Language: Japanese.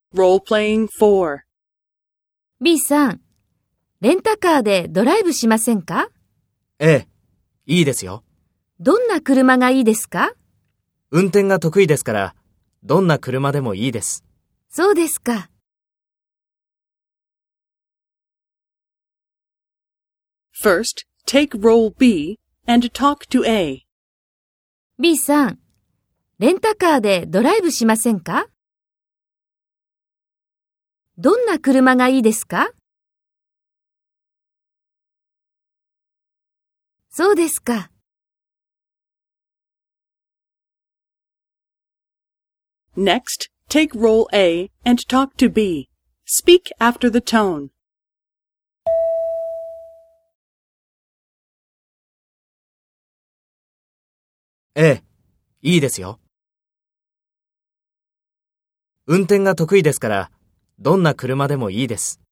Role-playing 4. B さん、レンタカーでドライブしませんか？ ええ、いいですよ。 どんな車がいいですか？ 運転が得意ですから、どんな車でもいいです。 そうですか。 First, take role B and talk to A. B さん、レンタカーでドライブしませんか？どんな車がいいですか？そうですか。 Next, take role A and talk to B. Speak after the tone. ええ、いいですよ。運転が得意ですから、どんな車でもいいです。